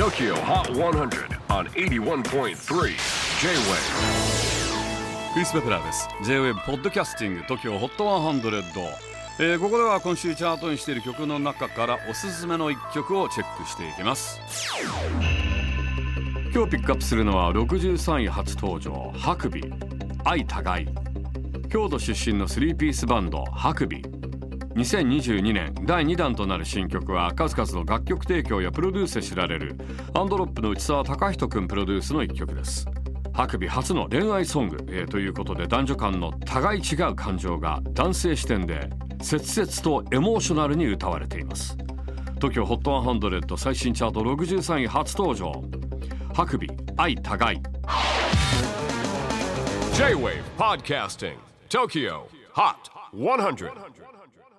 TOKYO HOT 100 on 81.3 J-WAVE クリス・ベプラーです。 J-WAVE ポッドキャスティング TOKYO HOT 100、ここでは今週チャートにしている曲の中からおすすめの1曲をチェックしていきます。今日ピックアップするのは63位初登場、ハクビ愛互い。京都出身の3ピースバンドハクビ。2022年第2弾となる新曲は数々の楽曲提供やプロデュースで知られるアンドロップの内澤貴人くんプロデュースの1曲です。ハクビ初の恋愛ソング、ということで男女間の互い違う感情が男性視点で切々とエモーショナルに歌われています。 TOKYO HOT 100最新チャート63位初登場、ハクビ愛互い。 J-WAVE PODCASTING TOKYO HOT 100